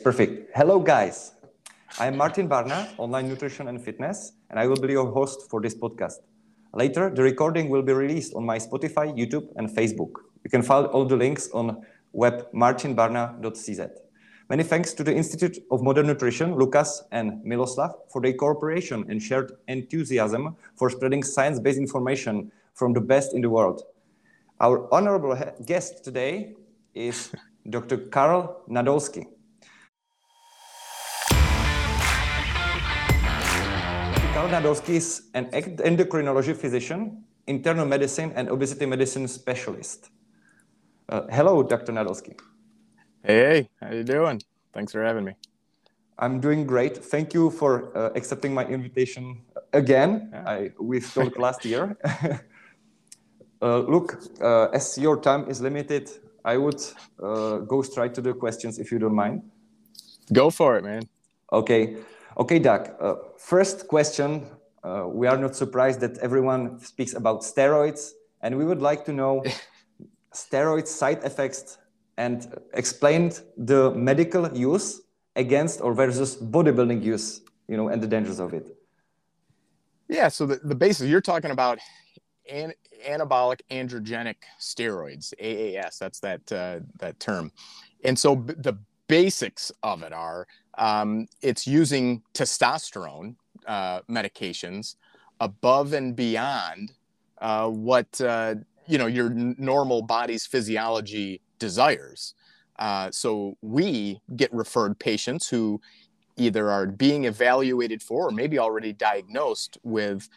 Perfect. Hello, guys. I'm Martin Barna, Online Nutrition and Fitness, and I will be your host for this podcast. Later, the recording will be released on my Spotify, YouTube, and Facebook. You can find all the links on web martinbarna.cz. Many thanks to the Institute of Modern Nutrition, Lukas and Miloslav, for their cooperation and shared enthusiasm for spreading science-based information from the best in the world. Our honorable guest today is Dr. Karl Nadolsky. Karl Nadolsky is an endocrinology physician, internal medicine and obesity medicine specialist. Hello, Dr. Nadolsky. Hey, how you doing? Thanks for having me. I'm doing great. Thank you for accepting my invitation again. Yeah. We talked last year. Look, as your time is limited, I would go straight to the questions if you don't mind. Go for it, man. Okay, Doc. First question. We are not surprised that everyone speaks about steroids, and we would like to know steroid side effects and explained the medical use against or versus bodybuilding use, and the dangers of it. Yeah, so the basis, you're talking about anabolic androgenic steroids, AAS, that's that term. And so the basics of it are, it's using testosterone medications above and beyond what your normal body's physiology desires. So we get referred patients who either are being evaluated for or maybe already diagnosed with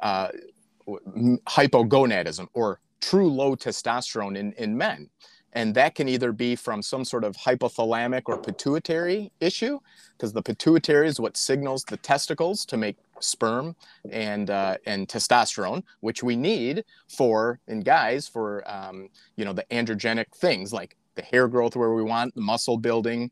hypogonadism or true low testosterone in men. And that can either be from some sort of hypothalamic or pituitary issue, because the pituitary is what signals the testicles to make sperm and testosterone, which we need in guys for the androgenic things like the hair growth where we want, the muscle building,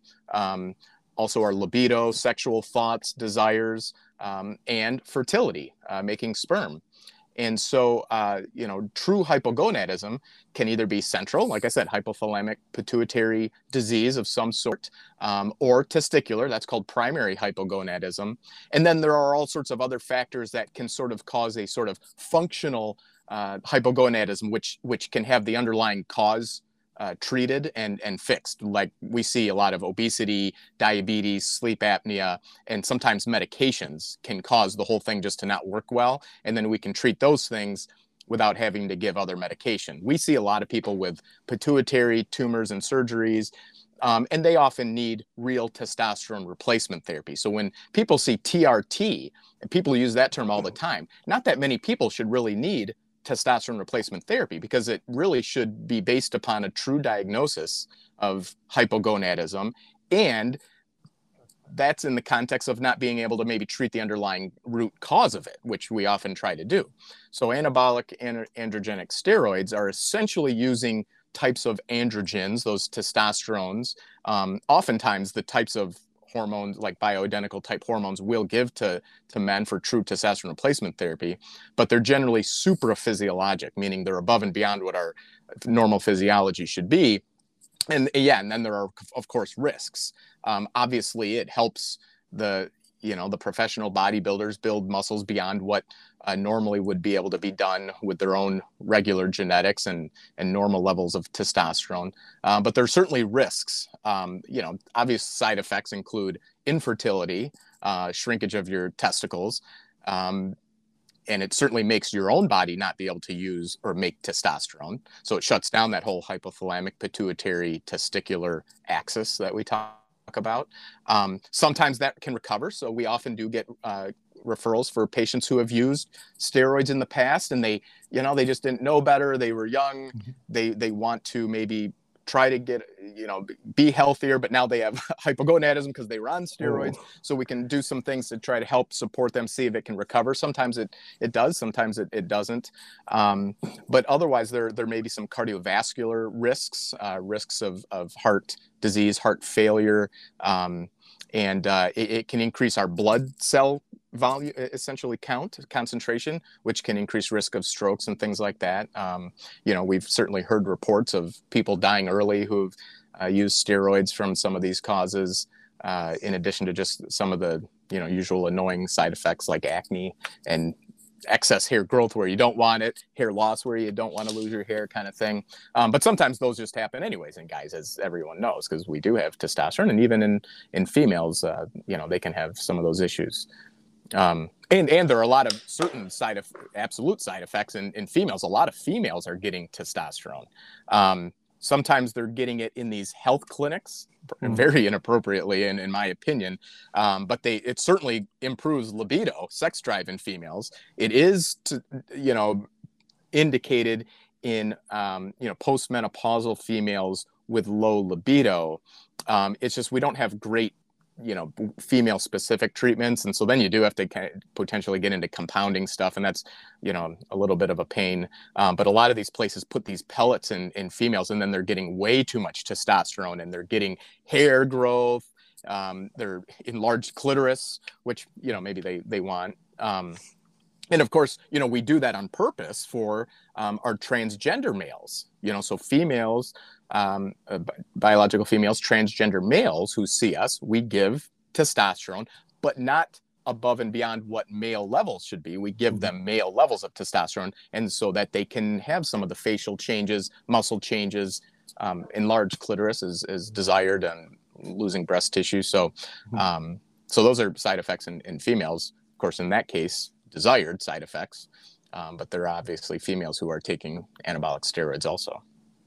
also our libido, sexual thoughts, desires, and fertility, making sperm. And so, true hypogonadism can either be central, like I said, hypothalamic pituitary disease of some sort, or testicular, that's called primary hypogonadism. And then there are all sorts of other factors that can sort of cause a sort of functional hypogonadism, which can have the underlying cause treated and fixed. Like we see a lot of obesity, diabetes, sleep apnea, and sometimes medications can cause the whole thing just to not work well. And then we can treat those things without having to give other medication. We see a lot of people with pituitary tumors and surgeries, and they often need real testosterone replacement therapy. So when people see TRT, and people use that term all the time, not that many people should really need testosterone replacement therapy, because it really should be based upon a true diagnosis of hypogonadism, and that's in the context of not being able to maybe treat the underlying root cause of it, which we often try to do. So anabolic androgenic steroids are essentially using types of androgens, those testosterones, oftentimes the types of hormones like bioidentical type hormones will give to men for true testosterone replacement therapy, but they're generally supraphysiologic, meaning they're above and beyond what our normal physiology should be. And then there are, of course, risks. Obviously, it helps the professional bodybuilders build muscles beyond what normally would be able to be done with their own regular genetics and normal levels of testosterone. But there are certainly risks. Obvious side effects include infertility, shrinkage of your testicles, and it certainly makes your own body not be able to use or make testosterone. So it shuts down that whole hypothalamic pituitary testicular axis that we talk about. Sometimes that can recover. So we often do get referrals for patients who have used steroids in the past, and they just didn't know better. They were young. Mm-hmm. They want to maybe try to get, be healthier, but now they have hypogonadism because they were on steroids. Oh. So we can do some things to try to help support them, see if it can recover. Sometimes it does, sometimes it doesn't. But otherwise, there may be some cardiovascular risks, risks of heart disease, heart failure, and it can increase our blood cell volume, essentially concentration, which can increase risk of strokes and things like that. We've certainly heard reports of people dying early who've used steroids from some of these causes. in addition to just some of the, usual annoying side effects like acne and excess hair growth where you don't want it, hair loss where you don't want to lose your hair kind of thing. But sometimes those just happen anyways in guys, as everyone knows, because we do have testosterone. And even in females, they can have some of those issues. And there are a lot of certain absolute side effects in females. A lot of females are getting testosterone. Sometimes they're getting it in these health clinics, very inappropriately, in my opinion. But it certainly improves libido, sex drive in females. It is, indicated in, postmenopausal females with low libido. It's just we don't have great female specific treatments, and so then you do have to potentially get into compounding stuff, and that's a little bit of a pain. But a lot of these places put these pellets in females, and then they're getting way too much testosterone, and they're getting hair growth, they're enlarged clitoris, which maybe they want. And of course, we do that on purpose for our transgender males, so females, biological females, transgender males who see us, we give testosterone, but not above and beyond what male levels should be. We give them male levels of testosterone, and so that they can have some of the facial changes, muscle changes, enlarged clitoris is desired, and losing breast tissue. So those are side effects in females. Of course, in that case, desired side effects, but there are obviously females who are taking anabolic steroids also.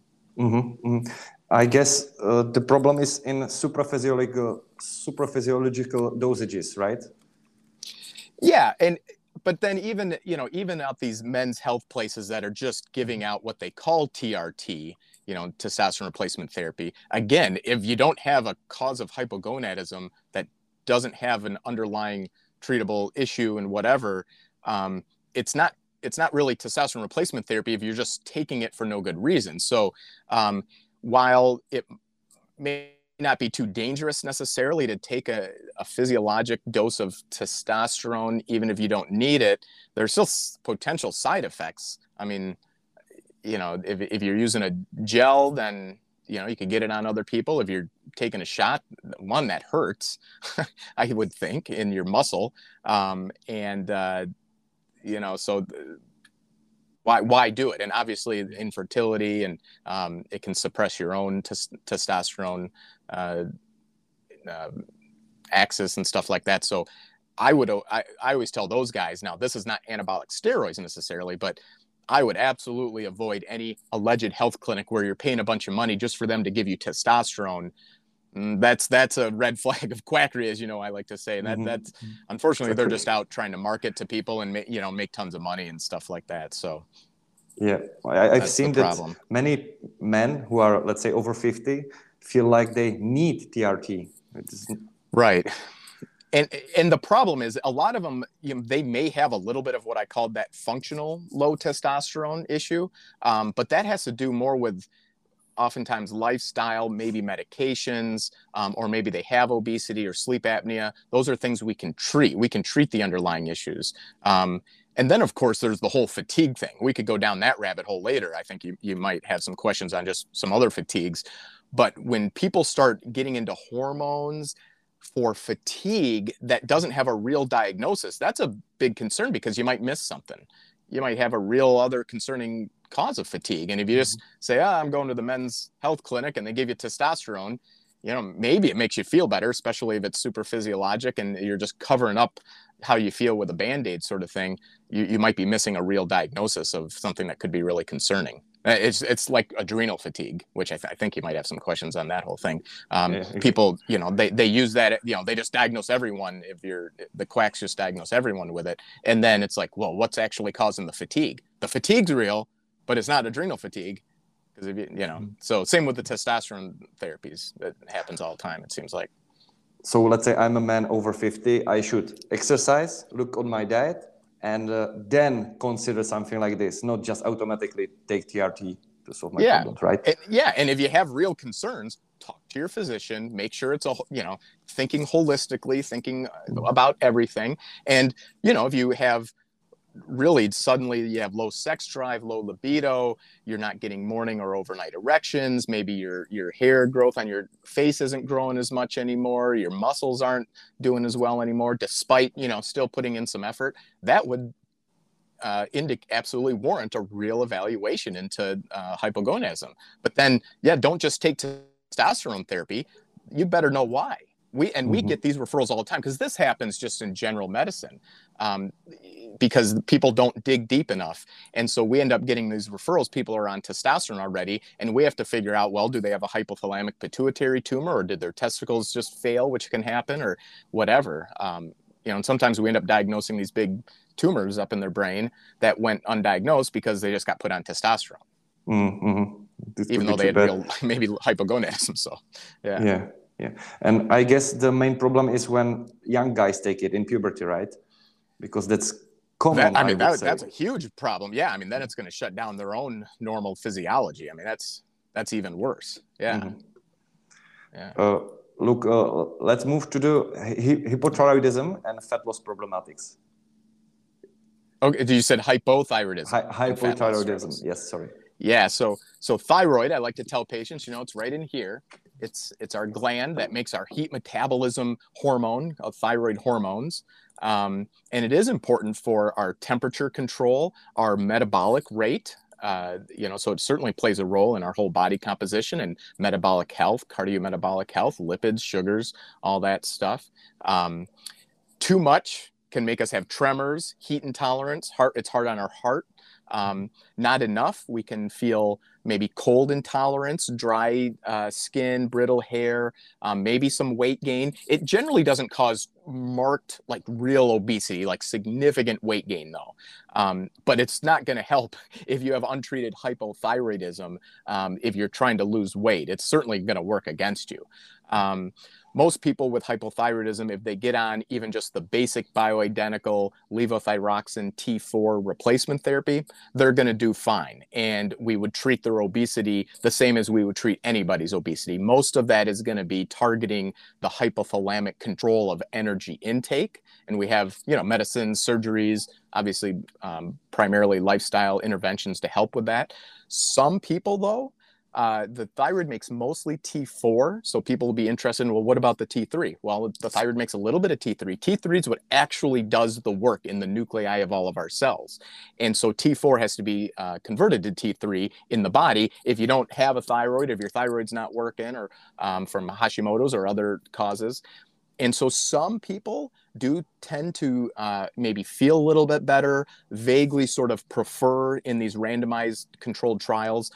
I guess the problem is in supraphysiological dosages, right? Yeah, but then even at these men's health places that are just giving out what they call TRT, testosterone replacement therapy. Again, if you don't have a cause of hypogonadism that doesn't have an underlying treatable issue and whatever, it's not really testosterone replacement therapy if you're just taking it for no good reason. So while it may not be too dangerous necessarily to take a physiologic dose of testosterone, even if you don't need it, there's still potential side effects. I mean, if you're using a gel, then you could get it on other people. If you're taking a shot, one, that hurts, I would think, in your muscle. So why do it? And obviously infertility, and it can suppress your own testosterone axis and stuff like that. So I always tell those guys, now this is not anabolic steroids necessarily, but I would absolutely avoid any alleged health clinic where you're paying a bunch of money just for them to give you testosterone. That's a red flag of quackery, as I like to say. And that's unfortunately they're just out trying to market to people and make tons of money and stuff like that. So yeah, I've seen that many men who are, let's say, over 50 feel like they need TRT. Right. And the problem is a lot of them, they may have a little bit of what I called that functional low testosterone issue, but that has to do more with oftentimes lifestyle, maybe medications, or maybe they have obesity or sleep apnea. Those are things we can treat. We can treat the underlying issues. And then, of course, there's the whole fatigue thing. We could go down that rabbit hole later. I think you might have some questions on just some other fatigues. But when people start getting into hormones for fatigue that doesn't have a real diagnosis, that's a big concern, because you might miss something. You might have a real other concerning cause of fatigue. And if you just say, I'm going to the men's health clinic and they give you testosterone, maybe it makes you feel better, especially if it's super physiologic and you're just covering up how you feel with a Band-Aid sort of thing. You might be missing a real diagnosis of something that could be really concerning. It's like adrenal fatigue, which I think you might have some questions on that whole thing. People, they use that, they just diagnose everyone. If the quacks just diagnose everyone with it. And then it's like, well, what's actually causing the fatigue? The fatigue's real, but it's not adrenal fatigue. Because so same with the testosterone therapies. That happens all the time, it seems like. So let's say I'm a man over 50. I should exercise, look on my diet, and then consider something like this, not just automatically take TRT to solve my problems, right? And if you have real concerns, talk to your physician, make sure it's thinking holistically, thinking about everything. And, if you have really suddenly you have low sex drive, low libido, you're not getting morning or overnight erections, maybe your hair growth on your face isn't growing as much anymore, your muscles aren't doing as well anymore, despite, still putting in some effort. That would absolutely warrant a real evaluation into hypogonadism. But then, don't just take testosterone therapy. You better know why. We get these referrals all the time, because this happens just in general medicine, because people don't dig deep enough. And so we end up getting these referrals. People are on testosterone already, and we have to figure out, well, do they have a hypothalamic pituitary tumor, or did their testicles just fail, which can happen, or whatever. And sometimes we end up diagnosing these big tumors up in their brain that went undiagnosed because they just got put on testosterone, even though they had real, maybe hypogonadism. So, yeah. And I guess the main problem is when young guys take it in puberty, right? Because that's common. That's a huge problem. Yeah, then it's going to shut down their own normal physiology. That's even worse. Yeah. Look, let's move to the hypothyroidism and fat loss problematics. Okay, you said hypothyroidism. Hypothyroidism. Yes, sorry. Yeah, so thyroid, I like to tell patients, it's right in here. It's our gland that makes our heat metabolism hormone, thyroid hormones. And it is important for our temperature control, our metabolic rate. So it certainly plays a role in our whole body composition and metabolic health, cardiometabolic health, lipids, sugars, all that stuff. Too much can make us have tremors, heat intolerance, it's hard on our heart. Not enough, we can feel maybe cold intolerance, dry skin, brittle hair, maybe some weight gain. It generally doesn't cause marked, like real obesity, like significant weight gain though. But it's not going to help if you have untreated hypothyroidism. If you're trying to lose weight, it's certainly going to work against you. Most people with hypothyroidism, if they get on even just the basic bioidentical levothyroxine T4 replacement therapy, they're going to do fine. And we would treat their obesity the same as we would treat anybody's obesity. Most of that is going to be targeting the hypothalamic control of energy intake. And we have, medicines, surgeries, obviously, primarily lifestyle interventions to help with that. Some people, though, the thyroid makes mostly T4, so people will be interested in, well, what about the T3? Well, the thyroid makes a little bit of T3. T3 is what actually does the work in the nuclei of all of our cells. And so T4 has to be converted to T3 in the body. If you don't have a thyroid, if your thyroid's not working, or from Hashimoto's or other causes. And so some people do tend to maybe feel a little bit better, vaguely sort of prefer in these randomized controlled trials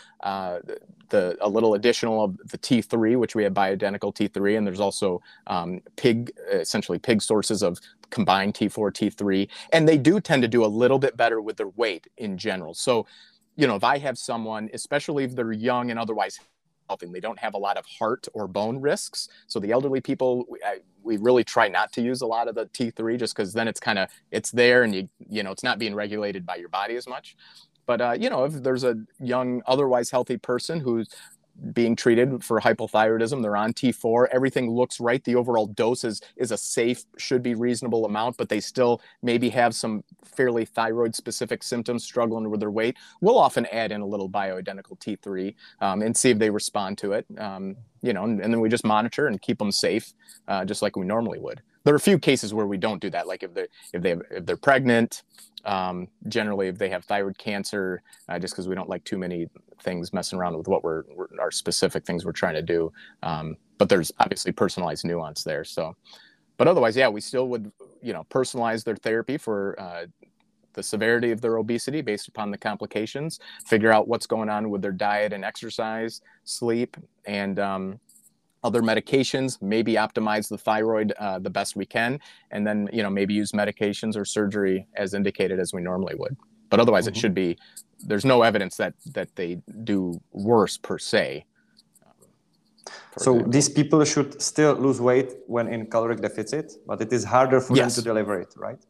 a little additional of the T3, which we have bioidentical T3, and there's also essentially pig sources of combined T4, T3, and they do tend to do a little bit better with their weight in general. So, if I have someone, especially if they're young and otherwise healthy, they don't have a lot of heart or bone risks. So the elderly people, we really try not to use a lot of the T3, just because then it's there, and it's not being regulated by your body as much. But, if there's a young, otherwise healthy person who's being treated for hypothyroidism, they're on T4, everything looks right, the overall dose is a safe, should be reasonable amount, but they still maybe have some fairly thyroid-specific symptoms, struggling with their weight, we'll often add in a little bioidentical T3 and see if they respond to it, and then we just monitor and keep them safe, just like we normally would. There are a few cases where we don't do that, like if they're pregnant, generally if they have thyroid cancer, just because we don't like too many things messing around with what our specific things we're trying to do. But there's obviously personalized nuance there. So, but otherwise, we still would, personalize their therapy for the severity of their obesity based upon the complications, figure out what's going on with their diet and exercise, sleep, and other medications, maybe optimize the thyroid the best we can, and then maybe use medications or surgery as indicated as we normally would. But otherwise, it should be. There's no evidence that they do worse per se. So these people should still lose weight when in caloric deficit, but it is harder for them to deliver it, right?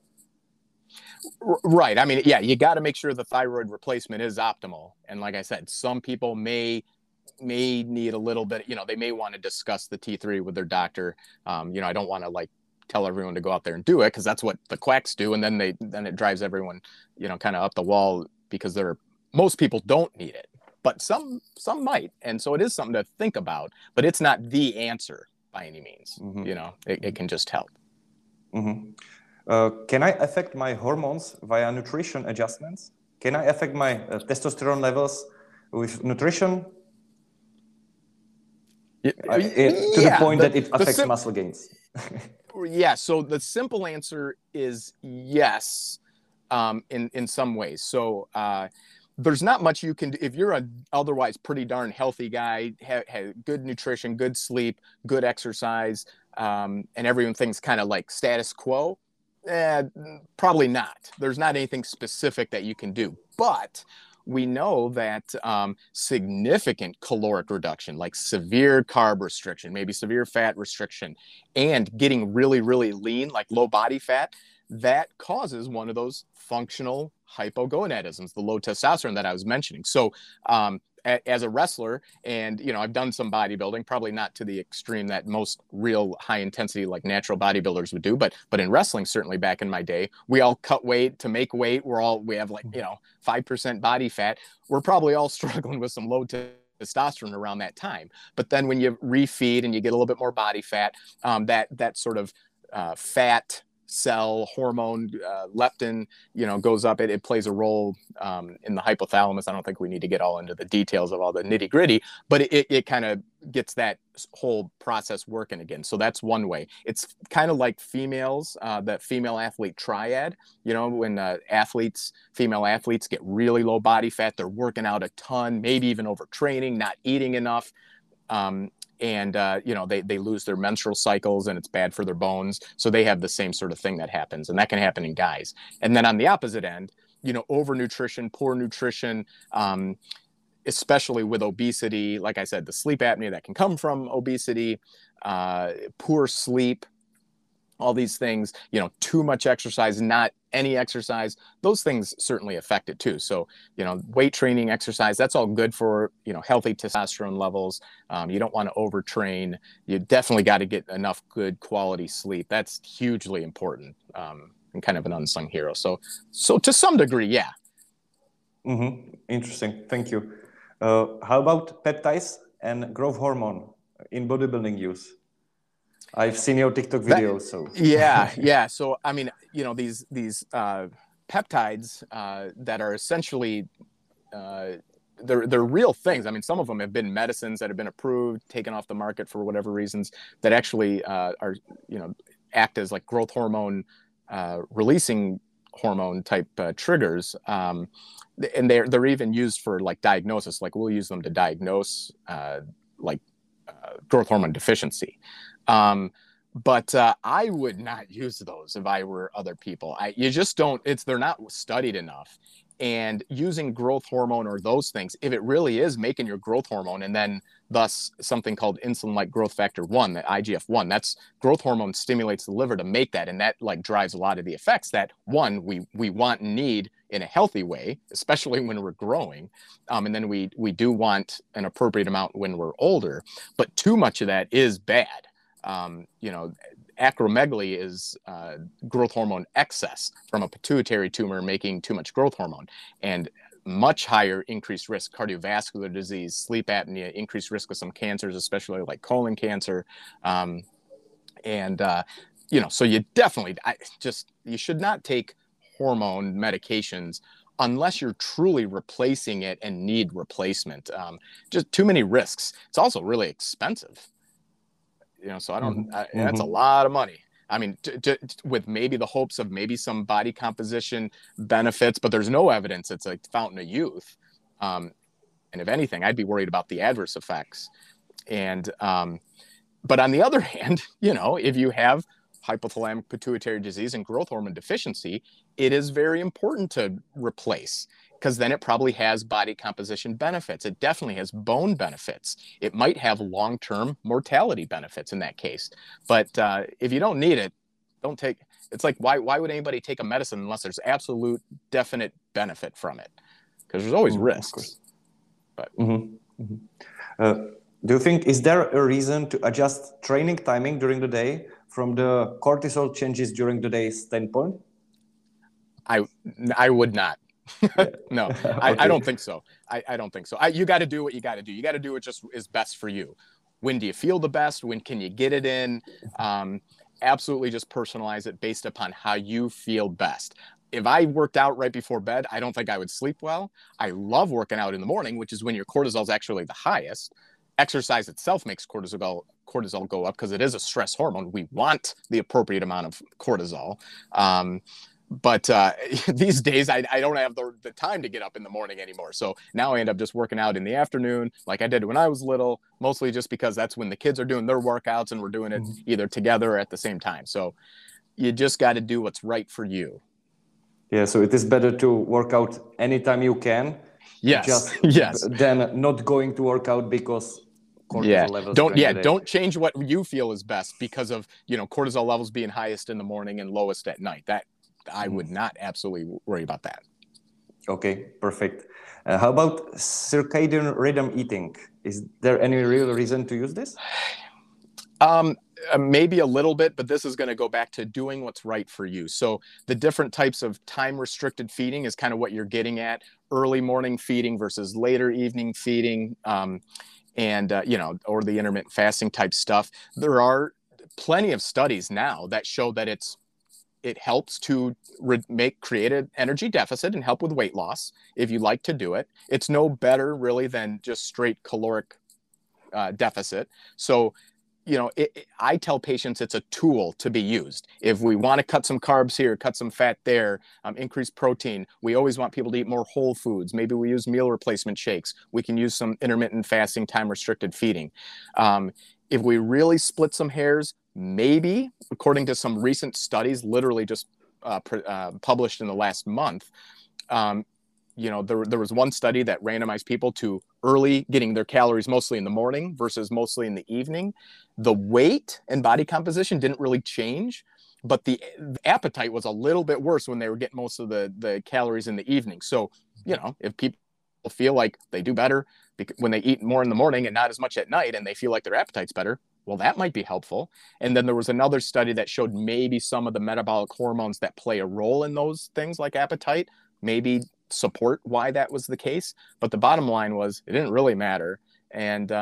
Right. You got to make sure the thyroid replacement is optimal. And like I said, some people may need a little bit, they may want to discuss the T3 with their doctor. I don't want to tell everyone to go out there and do it because that's what the quacks do, and then it drives everyone, kind of up the wall because most people don't need it, but some might, and so it is something to think about. But it's not the answer by any means. It can just help. Can I affect my hormones via nutrition adjustments? Can I affect my testosterone levels with nutrition? To the point that it affects muscle gains. Yeah, so the simple answer is yes, in some ways. So there's not much you can do if you're an otherwise pretty darn healthy guy, have good nutrition, good sleep, good exercise, and everything's kind of like status quo. Probably not. There's not anything specific that you can do, but we know that significant caloric reduction, like severe carb restriction, maybe severe fat restriction, and getting really, really lean, like low body fat, that causes one of those functional hypogonadisms, the low testosterone that I was mentioning. So as a wrestler, and I've done some bodybuilding, probably not to the extreme that most real high intensity like natural bodybuilders would do, but in wrestling, certainly back in my day, we all cut weight to make weight. We have like 5% body fat. We're probably all struggling with some low testosterone around that time. But then when you refeed and you get a little bit more body fat, that sort of fat cell hormone, leptin, goes up. It plays a role in the hypothalamus. I don't think we need to get all into the details of all the nitty gritty, but it kind of gets that whole process working again. So that's one way. It's kind of like females, that female athlete triad, when female athletes get really low body fat, they're working out a ton, maybe even overtraining, not eating enough. And they lose their menstrual cycles, and it's bad for their bones. So they have the same sort of thing that happens, and that can happen in guys. And then on the opposite end, overnutrition, poor nutrition, especially with obesity. Like I said, the sleep apnea that can come from obesity, poor sleep, all these things, too much exercise, not any exercise, those things certainly affect it too. So, weight training, exercise, that's all good for, healthy testosterone levels. You don't want to overtrain. You definitely got to get enough good quality sleep. That's hugely important, and kind of an unsung hero. So to some degree, yeah. Interesting. Thank you. How about peptides and growth hormone in bodybuilding use? I've seen your TikTok videos, so yeah. So I mean, these peptides that are essentially they're real things. I mean, some of them have been medicines that have been approved, taken off the market for whatever reasons, that actually are act as like growth hormone releasing hormone type triggers, and they're even used for like diagnosis. Like we'll use them to diagnose growth hormone deficiency. But I would not use those if I were other people. You just don't, they're not studied enough. And using growth hormone or those things, if it really is making your growth hormone, and then thus something called insulin-like growth factor 1, the IGF-1, that's growth hormone stimulates the liver to make that. And that like drives a lot of the effects that we want and need in a healthy way, especially when we're growing. And then we do want an appropriate amount when we're older, but too much of that is bad. Acromegaly is growth hormone excess from a pituitary tumor making too much growth hormone, and much higher increased risk cardiovascular disease, sleep apnea, increased risk of some cancers, especially like colon cancer. So you definitely, you should not take hormone medications unless you're truly replacing it and need replacement. Just too many risks. It's also really expensive. So I don't, that's a lot of money. I mean, with maybe the hopes of maybe some body composition benefits, but there's no evidence it's a fountain of youth. And if anything, I'd be worried about the adverse effects. And, but on the other hand, if you have hypothalamic pituitary disease and growth hormone deficiency, it is very important to replace, because then it probably has body composition benefits. It definitely has bone benefits. It might have long-term mortality benefits in that case. But if you don't need it, don't take. It's like, why would anybody take a medicine unless there's absolute definite benefit from it? Because there's always risks. But do you think, is there a reason to adjust training timing during the day? from the cortisol changes during the day standpoint? I would not. No, Okay. I don't think so. I don't think so. You got to do what you got to do. You got to do what just is best for you. When do you feel the best? When can you get it in? Absolutely just personalize it based upon how you feel best. If I worked out right before bed, I don't think I would sleep well. I love working out in the morning, which is when your cortisol is actually the highest. Exercise itself makes cortisol go up because it is a stress hormone. We want the appropriate amount of cortisol. But these days, I don't have the time to get up in the morning anymore. So now I end up just working out in the afternoon like I did when I was little, mostly just because that's when the kids are doing their workouts and we're doing it either together or at the same time. So you just got to do what's right for you. Yeah, so it is better to work out anytime you can. Yes. Than not going to work out because cortisol levels. Don't change what you feel is best because of, cortisol levels being highest in the morning and lowest at night. That I would not absolutely worry about that. Okay, perfect. How about circadian rhythm eating? Is there any real reason to use this? Maybe a little bit, but this is going to go back to doing what's right for you. So the different types of time restricted feeding is kind of what you're getting at. Early morning feeding versus later evening feeding, or the intermittent fasting type stuff. There are plenty of studies now that show that it helps to create an energy deficit and help with weight loss if you like to do it. It's no better really than just straight caloric deficit. So, I tell patients it's a tool to be used. If we want to cut some carbs here, cut some fat there, increase protein, we always want people to eat more whole foods. Maybe we use meal replacement shakes. We can use some intermittent fasting, time-restricted feeding. If we really split some hairs, maybe, according to some recent studies, literally just published in the last month, there was one study that randomized people to early getting their calories mostly in the morning versus mostly in the evening. The weight and body composition didn't really change, but the appetite was a little bit worse when they were getting most of the calories in the evening. So, if people feel like they do better when they eat more in the morning and not as much at night, and they feel like their appetite's better, well, that might be helpful. And then there was another study that showed maybe some of the metabolic hormones that play a role in those things like appetite, maybe support why that was the case. But the bottom line was it didn't really matter. And,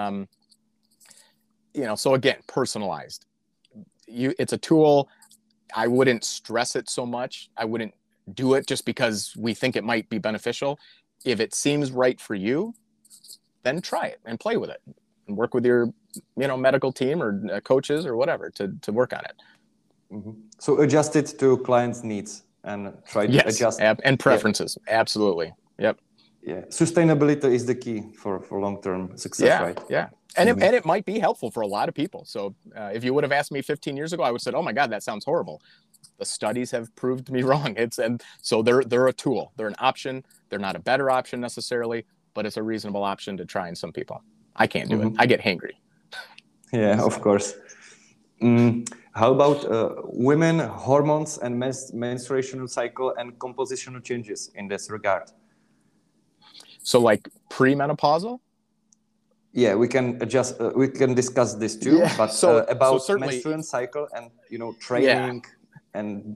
so again, personalized. It's a tool. I wouldn't stress it so much. I wouldn't do it just because we think it might be beneficial. If it seems right for you, then try it and play with it and work with your, medical team or coaches or whatever to work on it. Mm-hmm. So adjust it to clients' needs and try to adjust. And preferences. Yeah. Absolutely. Yep. Yeah. Sustainability is the key for long-term success, right? Yeah. And it might be helpful for a lot of people. So if you would have asked me 15 years ago, I would have said, oh my God, that sounds horrible. The studies have proved me wrong. So they're a tool. They're an option. They're not a better option necessarily, but it's a reasonable option to try in some people. I can't do it. I get hangry. Yeah, of course. How about women, hormones, and menstruational cycle and compositional changes in this regard? So like premenopausal? Yeah, we can discuss this too. Yeah. But about menstrual cycle and training and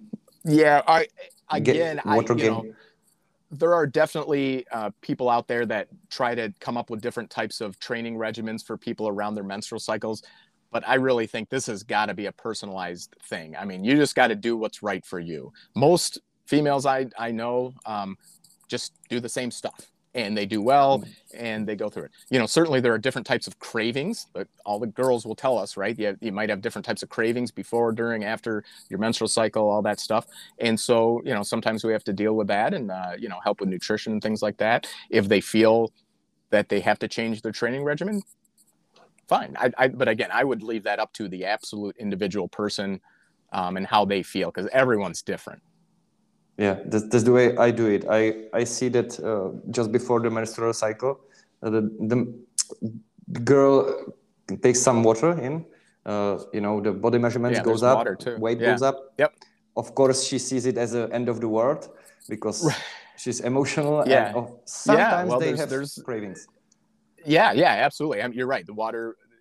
there are definitely people out there that try to come up with different types of training regimens for people around their menstrual cycles. But I really think this has got to be a personalized thing. I mean, you just got to do what's right for you. Most females I know just do the same stuff. And they do well, and they go through it. Certainly there are different types of cravings. But all the girls will tell us, right? You might have different types of cravings before, during, after your menstrual cycle, all that stuff. And so, sometimes we have to deal with that and, help with nutrition and things like that. If they feel that they have to change their training regimen, fine. But again, I would leave that up to the absolute individual person and how they feel, because everyone's different. Yeah, that's the way I do it. I see that just before the menstrual cycle, the girl takes some water in, the body measurements goes up, weight goes up. Yep. Of course, she sees it as the end of the world because she's emotional. And sometimes they have cravings. Yeah, absolutely. You're right. The water,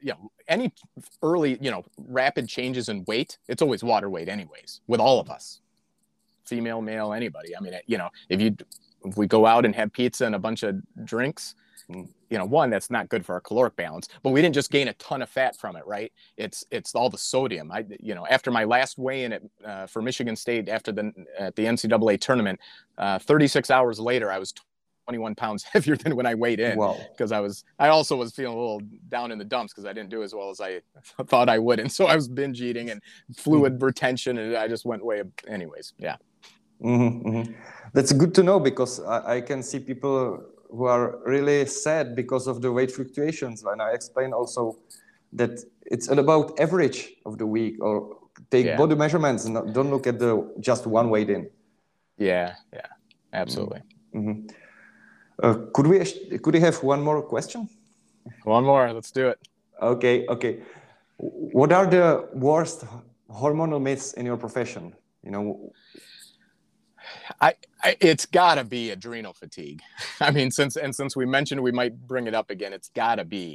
any early, rapid changes in weight, it's always water weight anyways, with all of us, female, male, anybody. I mean, if we go out and have pizza and a bunch of drinks, one, that's not good for our caloric balance, but we didn't just gain a ton of fat from it, right? It's all the sodium. After my last weigh-in for Michigan State at the NCAA tournament, 36 hours later, I was 21 pounds heavier than when I weighed in. Wow. Because I also was feeling a little down in the dumps because I didn't do as well as I thought I would. And so I was binge eating and fluid retention, and I just went way, anyways. Yeah. Mm-hmm, mm-hmm. That's good to know, because I can see people who are really sad because of the weight fluctuations. And I explain also that it's about average of the week, or take body measurements and don't look at just one weight in. Yeah, absolutely. Mm-hmm. Could we have one more question? One more, let's do it. Okay. What are the worst hormonal myths in your profession? It's got to be adrenal fatigue. I mean, since we mentioned we might bring it up again, it's got to be.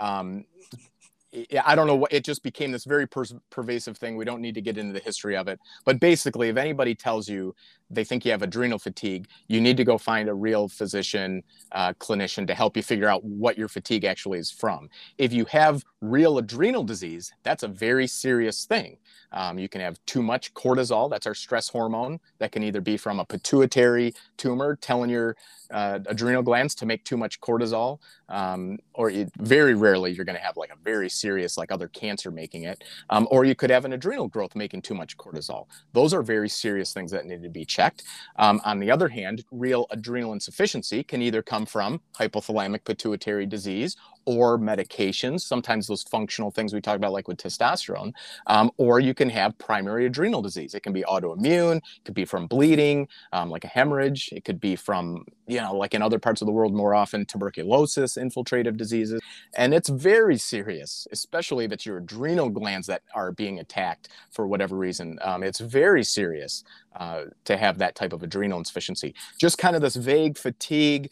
I don't know what, it just became this very pervasive thing. We don't need to get into the history of it. But basically, if anybody tells you they think you have adrenal fatigue, you need to go find a real physician, clinician to help you figure out what your fatigue actually is from. If you have real adrenal disease, that's a very serious thing. You can have too much cortisol. That's our stress hormone. That can either be from a pituitary tumor telling your adrenal glands to make too much cortisol, or very rarely you're going to have like a very serious, like other cancer making it, or you could have an adrenal growth making too much cortisol. Those are very serious things that need to be checked. On the other hand, real adrenal insufficiency can either come from hypothalamic pituitary disease or medications, sometimes those functional things we talk about, like with testosterone, or you can have primary adrenal disease. It can be autoimmune, it could be from bleeding, like a hemorrhage. It could be from, like in other parts of the world, more often tuberculosis, infiltrative diseases. And it's very serious, especially if it's your adrenal glands that are being attacked for whatever reason. It's very serious to have that type of adrenal insufficiency. Just kind of this vague fatigue.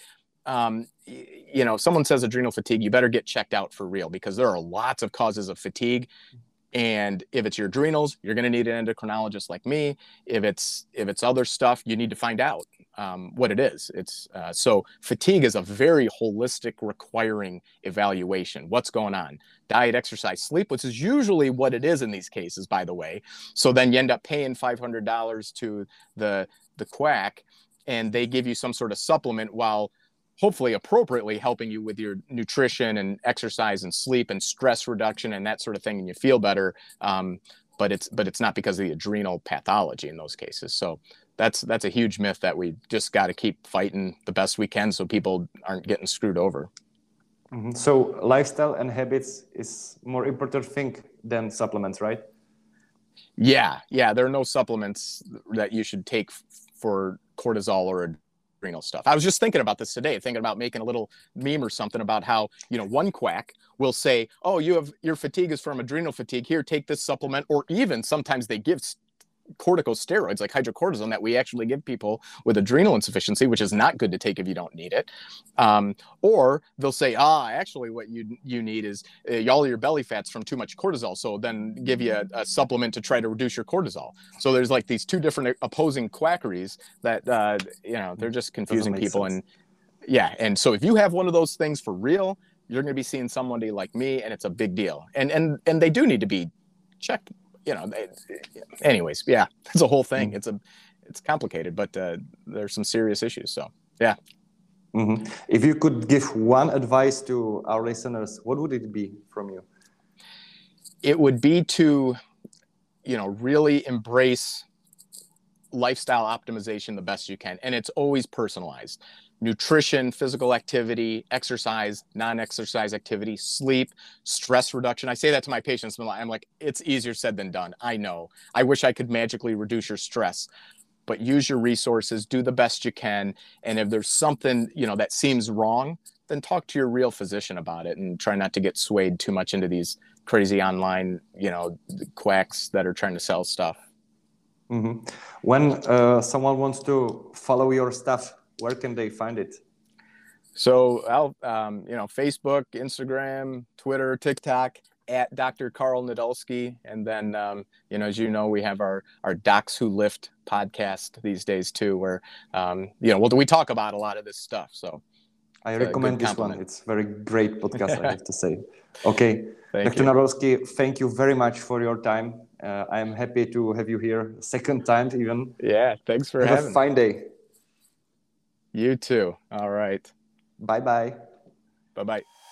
If someone says adrenal fatigue, you better get checked out for real, because there are lots of causes of fatigue. And if it's your adrenals, you're going to need an endocrinologist like me. If it's other stuff, you need to find out what it is. So fatigue is a very holistic, requiring evaluation. What's going on? Diet, exercise, sleep, which is usually what it is in these cases, by the way. So then you end up paying $500 to the quack, and they give you some sort of supplement while hopefully appropriately helping you with your nutrition and exercise and sleep and stress reduction and that sort of thing, and you feel better. But it's not because of the adrenal pathology in those cases. So that's a huge myth that we just got to keep fighting the best we can so people aren't getting screwed over. Mm-hmm. So lifestyle and habits is more important thing than supplements, right? Yeah. There are no supplements that you should take for cortisol or adrenal stuff. I was just thinking about this today, thinking about making a little meme or something about how, one quack will say, oh, your fatigue is from adrenal fatigue. Here, take this supplement. Or even sometimes they give corticosteroids like hydrocortisone that we actually give people with adrenal insufficiency, which is not good to take if you don't need it. Or they'll say, actually what you need is all your belly fat's from too much cortisol. So then give you a supplement to try to reduce your cortisol. So there's like these two different opposing quackeries that, they're just confusing people. Sense. And so if you have one of those things for real, you're going to be seeing somebody like me, and it's a big deal. And they do need to be checked. Anyways, it's a whole thing. It's complicated, but there's some serious issues. So, yeah. Mm-hmm. If you could give one advice to our listeners, what would it be from you? It would be to, really embrace lifestyle optimization the best you can. And it's always personalized. Nutrition, physical activity, exercise, non-exercise activity, sleep, stress reduction. I say that to my patients. I'm like, it's easier said than done. I know. I wish I could magically reduce your stress, but use your resources, do the best you can. And if there's something, that seems wrong, then talk to your real physician about it and try not to get swayed too much into these crazy online, quacks that are trying to sell stuff. Mm-hmm. When someone wants to follow your stuff, where can they find it? So Facebook, Instagram, Twitter, TikTok at Dr. Carl Nadolski. And then, as you know, we have our Docs Who Lift podcast these days too, where, we talk about a lot of this stuff. So I recommend this one. It's a very great podcast, I have to say. Okay. Thank Dr. Nadolski, thank you very much for your time. I am happy to have you here a second time even. Yeah, thanks for having me. Have a fine day. You too. All right. Bye-bye. Bye-bye.